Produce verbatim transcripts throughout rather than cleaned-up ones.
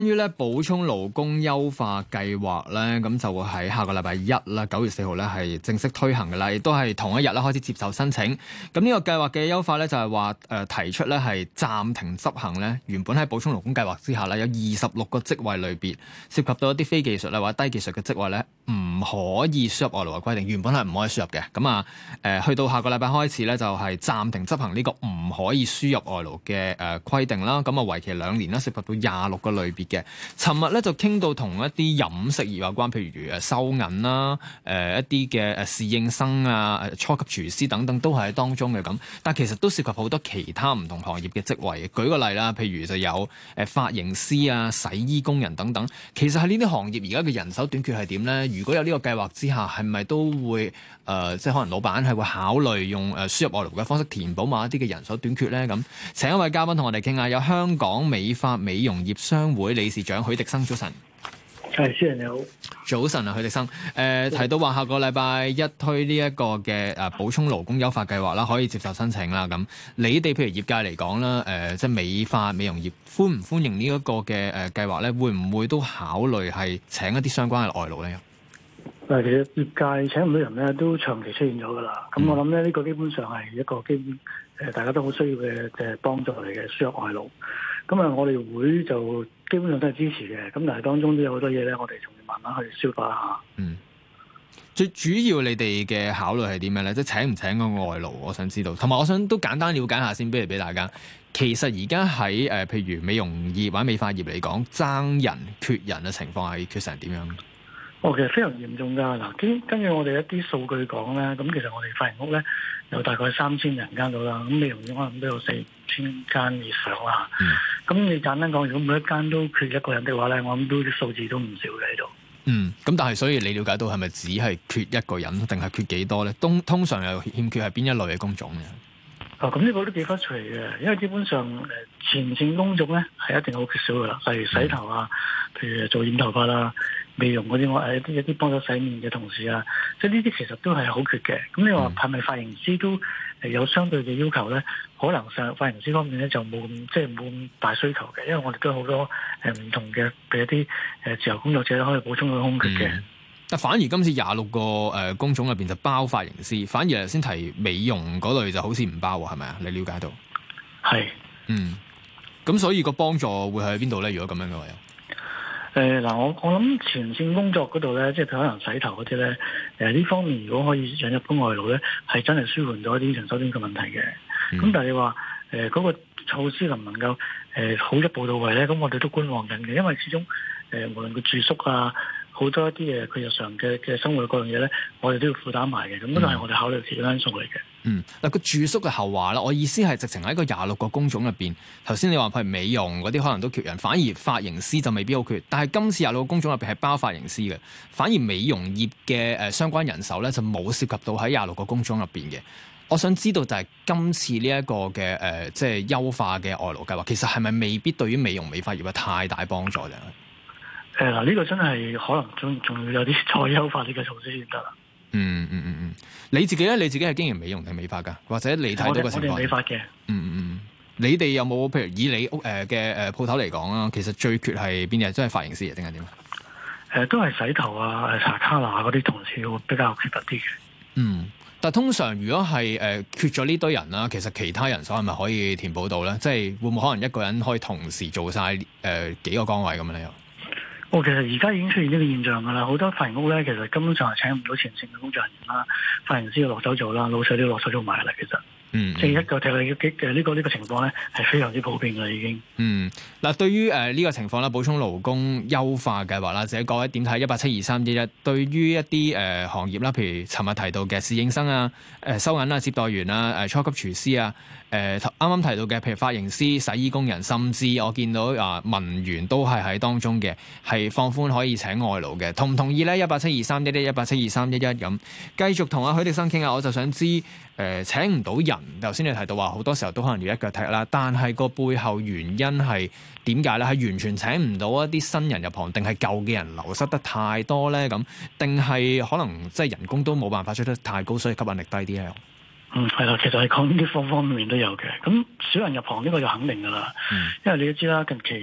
於咧補充勞工優化計劃咧，咁就會喺下個禮拜一啦，九月四號咧係正式推行嘅啦，亦都係同一日咧開始接受申請。咁呢個計劃嘅優化咧就係話誒提出咧係暫停執行咧，原本喺補充勞工計劃之下咧有二十六個職位類別，涉及到一啲非技術咧或者低技術嘅職位咧，唔可以輸入外勞嘅規定，原本係唔可以輸入嘅。咁啊誒去到下個禮拜開始咧就係暫停執行呢個唔可以輸入外勞嘅誒規定啦。咁啊為期兩年啦，涉及到廿六個類別嘅。尋日咧就傾到同一啲飲食業有關，譬如誒收銀啦、誒、呃、一啲嘅誒侍應生啊、初級廚師等等都係喺當中嘅咁，但其實都涉及好多其他唔同行業嘅職位。舉個例啦，譬如就有誒髮型師啊、洗衣工人等等。其實喺呢啲行業而家嘅人手短缺係點咧？如果有呢個計劃之下，係咪都會誒、呃、即係可能老闆係會考慮用誒輸入外勞嘅方式填補某一啲嘅人手短缺咧？咁請一位嘉賓同我哋傾下，有香港美髮美容業商會理事長許迪生，早晨。 係，主持人你好。 早晨啊，許迪生。誒、呃、提到話下個禮拜一推呢一個嘅誒補充勞工優化計劃啦，可以接受申請啦。咁你哋譬如業界嚟講啦，誒、呃、即係美髮美容業歡唔歡迎呢一個嘅誒計劃咧？會唔會都考慮係請一啲相關嘅外勞咧？ 誒，其實業界請唔到人咧，都長期出現咗㗎啦。咁、嗯、我諗咧，呢、這個基本上係一個基本誒大家都好需要嘅嘅幫助嚟嘅輸入外勞。咁啊，我哋會就基本上都係支持嘅。咁但係當中都有好多嘢咧，我哋仲要慢慢去消化下。 嗯，最主要你哋嘅考慮係點樣咧？即係請唔請個外勞，我想知道。同埋，我想都簡單了解下先，俾嚟俾大家。其實而家喺誒，譬如美容業或者美髮業嚟講，爭人缺人嘅情況係缺成點樣？ 哦，其實非常嚴重㗎。嗱，根根據我哋一啲數據講咧，咁其實我哋髮型屋咧有大概三千人間到啦，咁美容院可能都有四千間以上啦。咁、嗯、你簡單講，如果每一間都缺一個人的話咧，我諗都啲數字都唔少嘅喺度。嗯， 咁但係所以你了解到係咪只係缺一個人，定係缺幾多咧？通通常又欠缺係邊一類嘅工種嘅？ 哦，咁呢個都幾忽隨嘅，因為基本上誒前線工種咧係一定好缺少㗎啦，例如洗頭啊，譬如做染頭髮啦、美容嗰啲，我誒一啲一啲幫手洗面嘅同事啊，即係呢啲其實都係好缺嘅。咁你話係咪髮型師都誒有相對嘅要求咧？可能上髮型師方面咧就冇咁即係冇咁大需求嘅，因為我哋都有好多誒唔同嘅譬如一啲誒自由工作者可以補充到空缺嘅。嗯， 但反而今次廿六個誒工種入邊就包髮型師，反而頭先提美容嗰類就好似唔包喎，係咪啊？你了解到？係，嗯，咁所以個幫助會喺邊度咧？如果咁樣嘅話， 誒嗱，我我諗前線工作嗰度咧，即係可能洗頭嗰啲咧，誒呢方面如果可以引入到外勞咧，係真係舒緩咗一啲人手短缺問題嘅。咁、嗯、但係你話誒嗰個措施能唔能夠誒、呃、好一步到位咧？咁我哋都觀望緊嘅，因為始終誒、呃、無論佢住宿啊，好多一啲嘢佢日常嘅嘅生活嗰樣嘢咧，我哋都要負擔埋嘅。咁都係我哋考慮其中因素嚟嘅。嗯， 嗱個住宿嘅後話啦，我意思係直情喺個廿六個工種入邊，頭先你話譬如美容嗰啲可能都缺人，反而髮型師就未必好缺。但係今次廿六個工種入邊係包髮型師嘅，反而美容業嘅誒、呃、相關人手咧就冇涉及到喺廿六個工種入邊嘅。我想知道就係今次呢一個嘅誒、呃、即係優化嘅外勞計劃，其實係咪未必對於美容美髮業有太大幫助啫？ 誒嗱，呢個真係可能仲仲要有啲再優化呢個措施先得啦。 嗯嗯嗯嗯，你自己咧，你自己係經營美容定美髮㗎？或者你睇到個情況？ 我哋美髮嘅。 嗯嗯嗯，你哋有冇譬如以你屋誒嘅誒鋪頭嚟講啊？其實最缺係邊啲？真係髮型師定係點啊？ 誒、呃，都係洗頭啊、誒搽卡拿嗰啲同事會比較缺乏啲嘅。 嗯。但通常如果係誒、呃、缺咗呢堆人啦，其實其他人手係咪可以填補到咧？即係會唔會可能一個人可以同時做晒誒、呃、幾個崗位咁樣咧？又哦，其實而家已經出現呢個現象㗎啦。好多髮型屋咧，其實根本上係請唔到前線嘅工作人員啦，髮型師要落手做啦，老細都要落手做埋啦。其實。嗯，即係一個踢你嘅嘅呢個呢個情況咧，係非常之普遍嘅已經。嗯， 嗱，對於誒呢個情況咧，補充勞工優化計劃啦，或者各位點睇？一八七二三一一，對於一啲誒、呃、行業啦，譬如尋日提到嘅侍應生啊、誒、呃、收銀啊、接待員啊、誒、呃、初級廚師啊、誒啱啱提到嘅譬如髮型師、洗衣工人，甚至我見到啊、呃、文員都係喺當中嘅，係放寬可以請外勞嘅，同唔同意咧？一八七二三一一，一八七二三一一咁，繼續同阿許迪生傾下，我就想知誒、呃、請唔到人。頭先你提到話好多時候都可能要一腳踢啦，但係個背後原因係點解咧？係完全請唔到一啲新人入行，定係舊嘅人流失得太多咧？咁定係可能即係人工都冇辦法出得太高，所以吸引力低啲咧？ 嗯，係啦，其實係講呢啲方方面面都有嘅。咁少人入行呢個就肯定噶啦，嗯、因為你都知啦，近期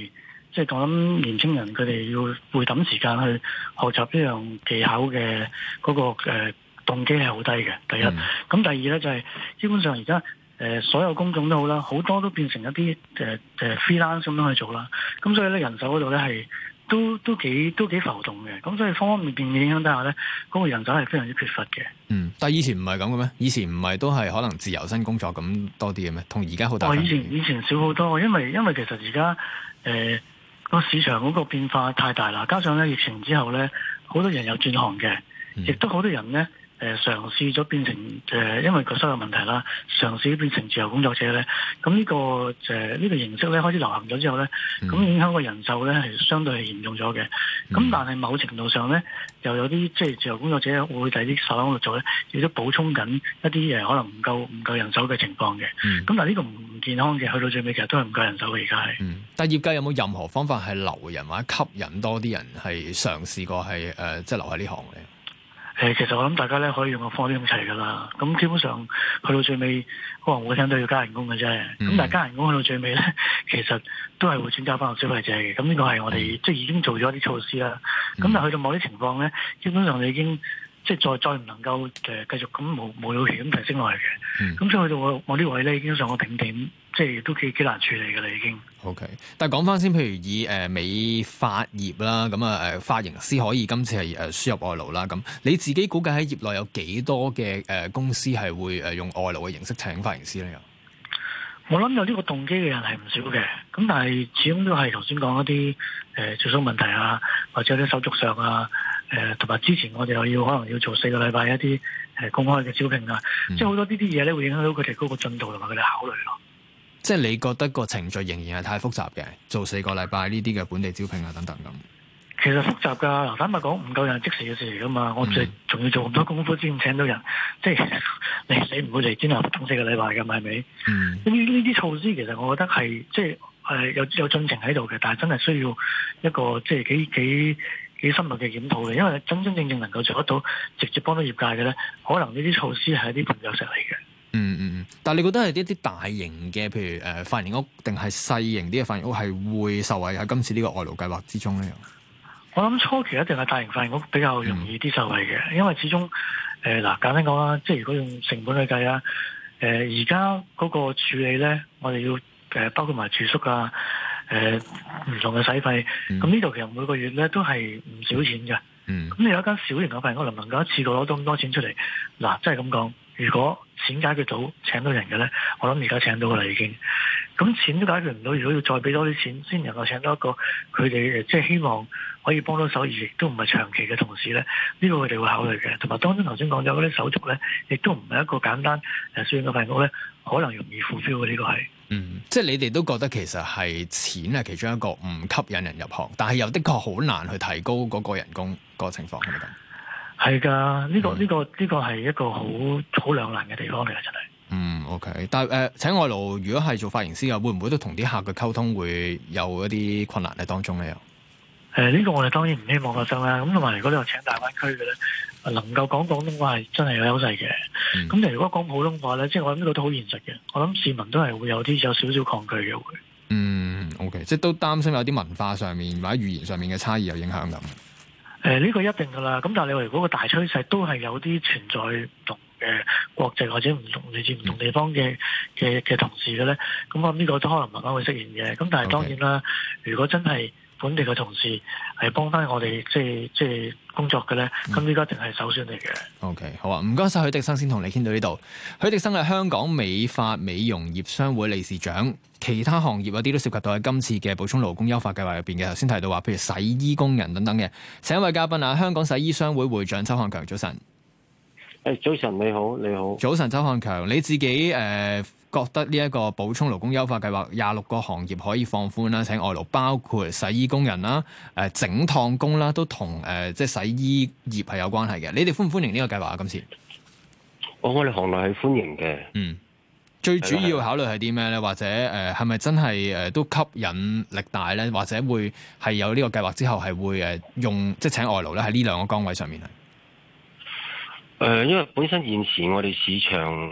即係講緊年青人佢哋要會抌時間去學習呢樣技巧嘅嗰、那個誒、呃、動機係好低嘅。第一，咁、嗯、第二咧就係、是、基本上而家誒所有工種都好啦，好多都變成一啲誒誒 freelance 咁樣去做啦。咁所以咧人手嗰度咧係都都幾都幾浮動嘅。咁所以方方面面嘅影響底下咧，嗰、那個人手係非常之缺乏嘅。 嗯，但係以前唔係咁嘅咩？以前唔係都係可能自由身工作咁多啲嘅咩？同而家好大分別。 哦，以前以前少好多，因為因為其實而家誒個市場嗰個變化太大啦，加上咧疫情之後咧，好多人有轉行嘅，亦、嗯、都好多人咧誒嘗試咗變成誒、呃，因為個收入問題啦，嘗試變成自由工作者咧。咁呢、這個誒呢、呃這個形式咧開始流行咗之後咧，咁、嗯、影響個人手咧係相對係嚴重咗嘅。咁、嗯、但係某程度上咧，又有啲即係自由工作者會第啲手喺度做咧，亦都補充緊一啲誒可能唔夠唔夠人手嘅情況嘅。咁、嗯、但係呢個唔健康嘅，去到最尾其實都係唔夠人手嘅而家係。 嗯，但係業界有冇任何方法係留人或者吸引多啲人係嘗試過係誒、呃、即係留喺呢行嘅？ 誒，其實我諗大家咧可以用個方法咁齊噶啦。咁基本上去到最尾，可能會聽到要加人工嘅啫。咁、嗯、但係加人工去到最尾咧，其實都係會轉交翻個消費者嘅。咁呢個係我哋、嗯、即係已經做咗啲措施啦。咁、嗯、但係去到某啲情況咧，基本上你已經即係再再唔能夠誒繼續咁無無了期咁提升落嚟嘅。咁、嗯、所以去到我我啲位咧已經上個頂點，即係都幾幾難處理嘅啦已經。 OK，但係講翻先，譬如以誒、呃、美髮業啦，咁啊誒髮型師可以今次係誒輸入外勞啦，咁你自己估計喺業內有幾多嘅誒、呃、公司係會誒用外勞嘅形式請髮型師咧？ 我諗有呢個動機嘅人係唔少嘅，咁但係始終都係頭先講一啲誒住宿問題啊，或者啲手續上啊，誒同埋之前我哋又要可能要做四個禮拜一啲誒、呃、公開嘅招聘啊，嗯、即係好多呢啲嘢咧會影響到佢哋嗰個進度同埋佢哋考慮咯。 即係你覺得個程序仍然係太複雜嘅，做四個禮拜呢啲嘅本地招聘啊等等咁。 其實複雜㗎，嗱坦白講唔夠人即時嘅事嚟㗎嘛，我哋仲要做咁多功夫先請到人，即係你你唔會嚟專登等四個禮拜㗎嘛，係咪？嗯。呢呢啲措施其實我覺得係即係誒有有進程喺度嘅，但係真係需要一個即係幾幾幾深入嘅檢討嘅，因為真真正正能夠做得到直接幫到業界嘅咧，可能呢啲措施係一啲絆腳石嚟嘅。 嗯嗯嗯，但係你覺得係一啲大型嘅，譬如誒髮型屋，定係細型啲嘅髮型屋係會受惠喺今次呢個外勞計劃之中咧？ 我諗初期一定係大型髮型屋比較容易啲受惠嘅，嗯、因為始終誒嗱簡單講啦，即係如果用成本去計啊，誒而家嗰個處理咧，我哋要誒、呃、包括埋住宿啊，誒、呃、唔同嘅使費，咁呢度其實每個月咧都係唔少錢嘅。嗯，咁你有一間小型嘅髮型屋能唔能夠一次過攞到咁多錢出嚟？嗱，即係咁講。如果錢解決到請到人嘅咧，我諗而家請到噶啦已經。咁錢都解決唔到，如果要再俾多啲錢先能夠請到一個佢哋即係希望可以幫到手而亦都唔係長期嘅同事咧，呢、這個佢哋會考慮嘅。同埋當中頭先講咗嗰啲手續咧，亦都唔係一個簡單誒小型嘅髮型屋咧，可能容易 fulfill 嘅呢個係。嗯，即係你哋都覺得其實係錢係其中一個唔吸引人入行，但係又的確好難去提高嗰個人工個情況係咪咁？係噶，呢、這個呢、這個呢、這個係一個好好兩難嘅地方嚟嘅，真係。嗯 ，OK， 但係誒、呃，請外勞如果係做髮型師嘅，會唔會都同啲客嘅溝通會有一啲困難喺當中咧？又、呃、誒，呢、這個我哋當然唔希望發生啦。咁同埋如果你話請大灣區嘅咧，能夠講廣東話係真係有優勢嘅。咁、嗯、但係如果講普通話咧，即係我諗呢個都好現實嘅。我諗市民都係會有啲有少少抗拒嘅會。嗯，OK，即係都擔心有啲文化上面或者語言上面嘅差異有影響咁。誒、呃、呢、這個一定噶啦，咁但係你話如果個大趨勢都係有啲存在唔同嘅國籍或者唔同嚟自唔同地方嘅嘅嘅同事嘅咧，咁我諗呢個都可能慢慢會出現嘅。咁但係當然啦， okay. 如果真係本地嘅同事係幫翻我哋即係即係工作嘅咧，咁呢個一定係首選嚟嘅。OK， 好啊，唔該晒許迪生，先同你傾到呢度。許迪生係香港美髮美容業商會理事長。其他行業有啲都涉及到喺今次嘅補充勞工優化計劃入邊嘅，頭先提到話，譬如洗衣工人等等嘅。請一位嘉賓啊，香港洗衣商會會長周漢強，早晨。 誒，早晨你好，你好。 早晨，周漢強，你自己誒、呃、覺得呢一個補充勞工優化計劃廿六個行業可以放寬啦，請外勞，包括洗衣工人啦、誒、呃、整燙工啦，都同誒、呃、即係洗衣業係有關係嘅。你哋歡唔歡迎呢個計劃啊？今次， 我我哋行內係歡迎嘅。嗯。 最主要考慮係啲咩咧？或者誒係咪真係誒、呃、都吸引力大咧？或者會係有呢個計劃之後係會誒用即係請外勞咧喺呢兩個崗位上面啊？ 誒、呃，因為本身現時我哋市場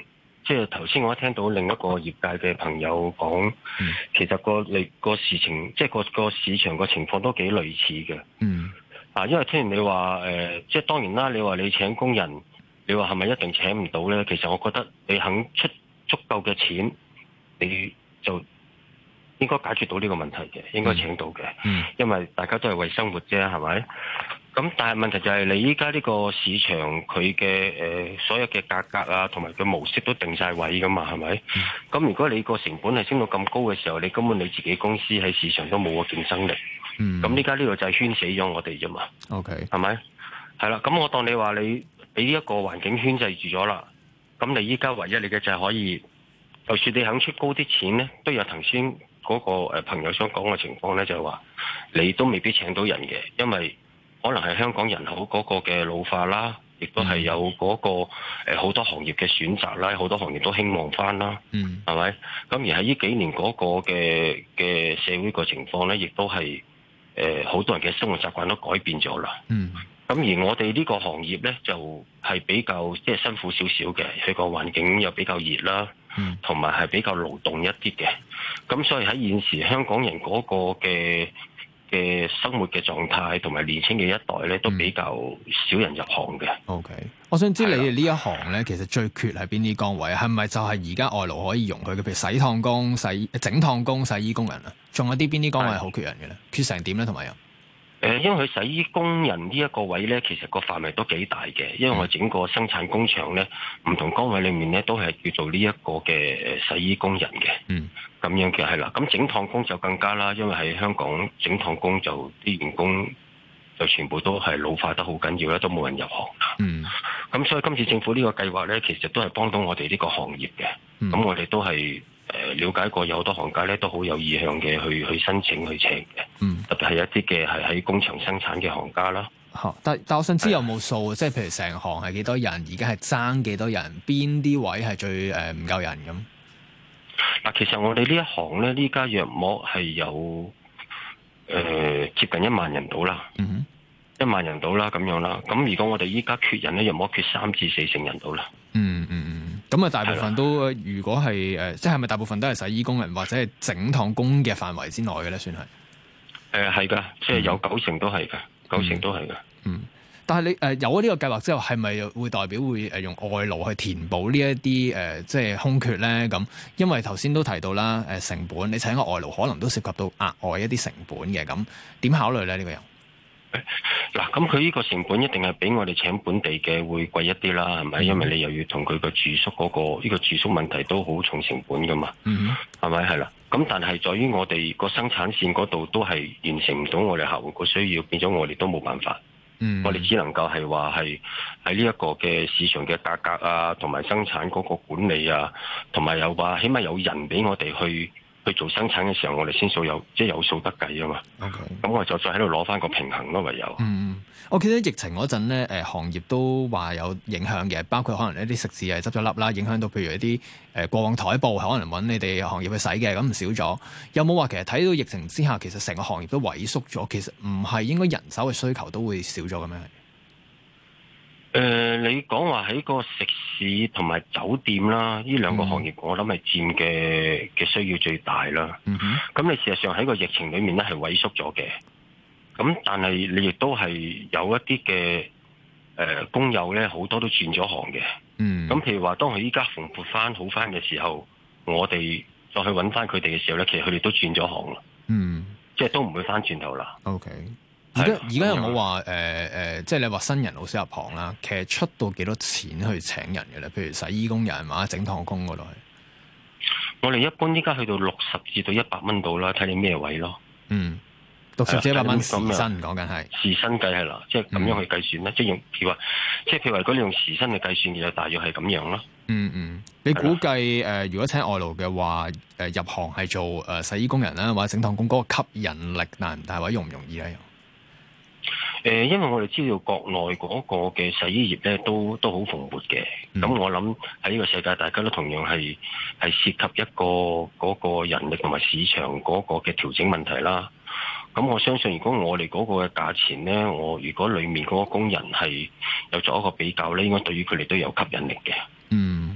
即係頭先我一聽到另一個業界嘅朋友講，嗯、其實個你個事情，即係個個市場個情況都幾類似嘅。 嗯。 啊，因為聽完你話誒、呃，即係當然啦，你話你請工人，你話係咪一定請唔到咧？其實我覺得你肯出足夠嘅錢，你就應該解決到呢個問題嘅，應該請到嘅。嗯。因為大家都係為生活啫，係咪？咁但係問題就係你依家呢個市場佢嘅誒所有嘅價格啊，同埋個模式都定晒位噶嘛，係咪？咁、嗯、如果你個成本係升到咁高嘅時候，你根本你自己公司喺市場都冇個競爭力。嗯。咁依家呢個就係圈死咗我哋啫嘛。OK。係咪？係啦。咁我當你話你俾呢一個環境圈制住咗啦，咁你依家唯一你嘅就係可以，就算你肯出高啲錢咧，都有頭先嗰個誒朋友想講嘅情況咧，就係話你都未必請到人嘅，因為可能係香港人口嗰個嘅老化啦，亦都係有嗰個誒好多行業嘅選擇啦，好多行業都興旺翻啦，嗯，係咪？咁而喺呢幾年嗰個嘅嘅社會個情況咧，亦都係誒好多人嘅生活習慣都改變咗啦，嗯。咁而我哋呢個行業咧，就係比較即係辛苦少少嘅，佢個環境又比較熱啦，同埋係比較勞動一啲嘅。咁所以喺現時香港人嗰個嘅嘅生活嘅狀態同埋年輕嘅一代咧，都比較少人入行嘅。 O K，我想知你哋呢一行咧，其實最缺係邊啲崗位？係咪就係而家外勞可以容許嘅？譬如洗燙工、洗整燙工、洗衣工人啊，仲有啲邊啲崗位係好缺人嘅咧？缺成點咧？同埋又？ 誒，因為佢洗衣工人呢一個位咧，其實個範圍都幾大嘅，因為我整個生產工場咧，唔同崗位裏面咧，都係叫做呢一個嘅洗衣工人嘅。嗯，咁樣嘅係啦。咁整燙工就更加啦，因為喺香港整燙工就啲員工就全部都係老化得好緊要啦，都冇人入行。嗯，咁所以今次政府呢個計劃咧，其實都係幫到我哋呢個行業嘅。咁、嗯、我哋都係。誒了解過有好多行家咧，都好有意向嘅去去申請去請嘅，嗯，特別係一啲嘅係喺工場生產嘅行家啦。 嚇、嗯，但但我想知有冇數，即係譬如成行係幾多人，而家係爭幾多人，邊啲位係最誒唔夠人咁？ 嗱，其實我哋呢一行咧，呢家約莫係有誒、呃、接近一萬人到啦，嗯哼，一萬人到啦咁樣啦。咁如果我哋依家缺人咧，約莫缺三至四成人到啦。嗯嗯嗯。咁啊，大部分都如果係誒，即係咪大部分都係洗衣工人或者係整燙工嘅範圍之內嘅咧？算係誒係㗎，即係有九成都係㗎，九成都係㗎。 嗯，但係你誒、呃、有咗呢個計劃之後，係咪會代表會誒用外勞去填補呢一啲誒即係空缺咧？咁因為頭先都提到啦，誒、呃、成本你請個外勞可能都涉及到額外一啲成本嘅，咁點考慮咧？呢、呢個又？ 嗱，咁佢呢個成本一定係比我哋請本地嘅會貴一啲啦，係咪？因為你又要同佢個住宿嗰、嗰個呢、呢個住宿問題都好重成本噶嘛，係咪？係啦，咁但係在於我哋個生產線嗰度都係完成唔到我哋客戶個需要，變咗我哋都冇辦法，嗯、我哋只能夠係話係喺呢一個嘅市場嘅價格啊，同埋生產嗰個管理啊，同埋又話起碼有人俾我哋去。去做生產嘅時候，我哋先數有即係有數得計啊嘛。OK，咁我就再喺度攞翻個平衡咯，唯有。嗯， 我記得疫情嗰陣咧，誒行業都話有影響嘅，包括可能一啲食肆係執咗笠啦，影響到譬如一啲誒過往台布可能揾你哋行業去洗嘅，咁唔少咗。有冇話其實睇到疫情之下，其實成個行業都萎縮咗？其實唔係應該人手嘅需求都會少咗嘅咩？ 誒、呃，你講話喺個食肆同埋酒店啦，呢兩個行業，我諗係佔嘅嘅需要最大啦。咁、嗯、你事實上喺個疫情裏面咧係萎縮咗嘅，咁但係你亦都係有一啲嘅誒工友咧，好多都轉咗行嘅。咁、嗯、譬如話，當佢依家蓬勃翻好翻嘅時候，我哋再去揾翻佢哋嘅時候咧，其實佢哋都轉咗行啦。嗯，即係都唔會翻轉頭啦。 OK。而家而家有冇話誒誒，即係你話新人老師入行啦，其實出到幾多錢去請人嘅咧？譬如洗衣工人或者整燙工嗰度， 我哋一般依家去到六十至到一百蚊度啦，睇你咩位咯。嗯， 六十至一百蚊時薪講緊係時薪計係啦，即係咁樣去計算咧、嗯，即係用譬如話，即係譬如話，如果你用時薪去計算，就大約係咁樣咯。 嗯嗯，你估計誒、呃，如果請外勞嘅話，誒、呃、入行係做誒、呃、洗衣工人啦，或者整燙工，嗰、那個吸引力難唔大，或者容唔容易咧？ 誒，因為我哋知道國內嗰個嘅洗衣業咧，都都好蓬勃嘅。咁、嗯、我諗喺呢個世界，大家都同樣係係涉及一個嗰個人力同埋市場嗰個嘅調整問題啦。咁我相信，如果我哋嗰個嘅價錢咧，我如果裡面嗰個工人係有做一個比較咧，應該對於佢哋都有吸引力嘅。 嗯。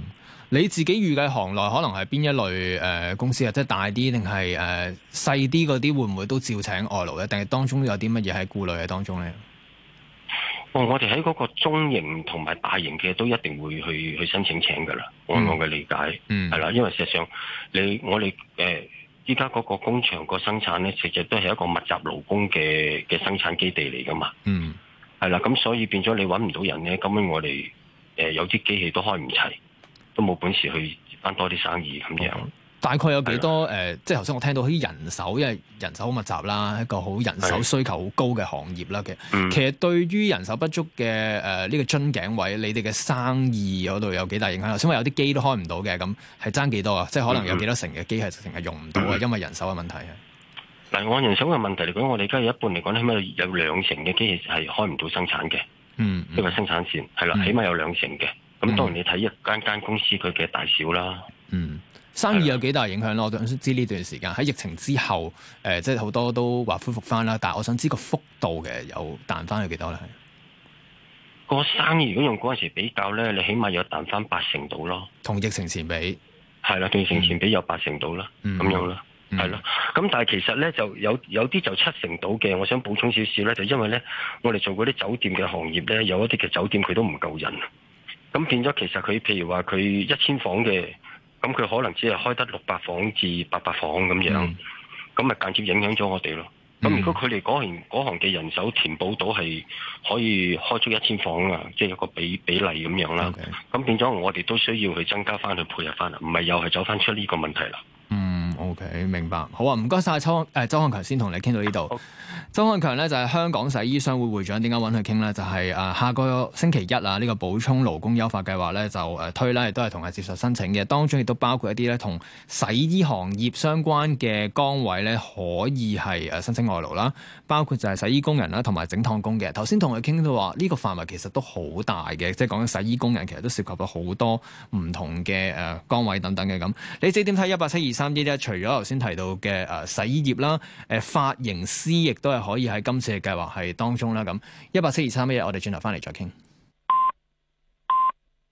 你自己預計行內可能係邊一類誒、呃、公司啊？即係大啲定係誒細啲嗰啲，會唔會都照請外勞咧？定係當中有啲乜嘢喺顧慮嘅當中咧？ 哦，我哋喺嗰個中型同埋大型嘅都一定會去去申請請噶啦。按我嘅理解，嗯，係啦，因為事實上你我哋誒依家嗰個工場個生產咧，其實都係一個密集勞工嘅嘅生產基地嚟噶嘛。嗯，係啦，咁所以變咗你揾唔到人咧，咁樣我哋誒、呃、有啲機器都開唔齊，都冇本事去接翻多啲生意咁樣。嗯，大概有幾多誒、呃？即係頭先我聽到啲人手，因為人手好密集啦，一個好人手需求好高嘅行業啦嘅。其實對於人手不足嘅誒呢個樽頸位，你哋嘅生意嗰度有幾大影響？頭先話有啲機都開唔到嘅，咁係爭幾多啊？即係可能有幾多成嘅機係直情係用唔到啊？因為人手嘅問題啊。嗱，按人手嘅問題嚟講，我哋而家有一半嚟講，起碼有兩成嘅機器係開唔到生產嘅。嗯，呢個生產線係啦，起碼有兩成嘅。咁當然你睇一間間公司佢嘅大小啦。嗯。生意有幾大影響咯？我想知呢段時間喺疫情之後，誒、呃，即係好多都話恢復翻啦。但係我想知個幅度嘅有彈翻去幾多咧？個生意如果用嗰陣時比較咧，你起碼有彈翻八成到咯。同疫情前比係啦，同疫情前比有八成到啦，咁、嗯、樣啦，係咯。咁但係其實咧就有有啲就七成到嘅。我想補充少少咧，就因為咧我哋做嗰啲酒店嘅行業咧，有一啲嘅酒店佢都唔夠人，咁變咗其實佢譬如話佢一千房嘅。咁佢可能只係開得六百房至八百房咁樣，咁咪間接影響咗我哋咯。咁、嗯、如果佢哋嗰行嗰行嘅人手填補到係可以開出一千房啊，即係有個比比例咁樣啦。咁、okay. 變咗我哋都需要去增加翻去配合翻啦，唔係又係走翻出呢個問題啦。嗯 ，OK， 明白。好啊，唔該晒。周誒周漢強先同你傾到呢度。周漢強咧就係、是、香港洗衣商會會長，點解揾佢傾咧？就係、是、誒、呃、下個星期一啊，呢、這個補充勞工優化計劃咧就誒、呃、推啦，亦都係同係接受申請嘅。當中亦都包括一啲咧同洗衣行業相關嘅崗位咧，可以係誒申請外勞啦。包括就係洗衣工人啦，同埋整燙工嘅。頭先同佢傾到話，呢、這個範圍其實都好大嘅，即係講緊洗衣工人其實都涉及到好多唔同嘅誒崗位等等嘅咁。你自己點睇一八七二三一一？除咗頭先提到嘅誒洗衣業啦，誒髮型師亦都係可以喺今次嘅計劃係當中啦。咁一八七二三一一，我哋轉頭翻嚟再傾。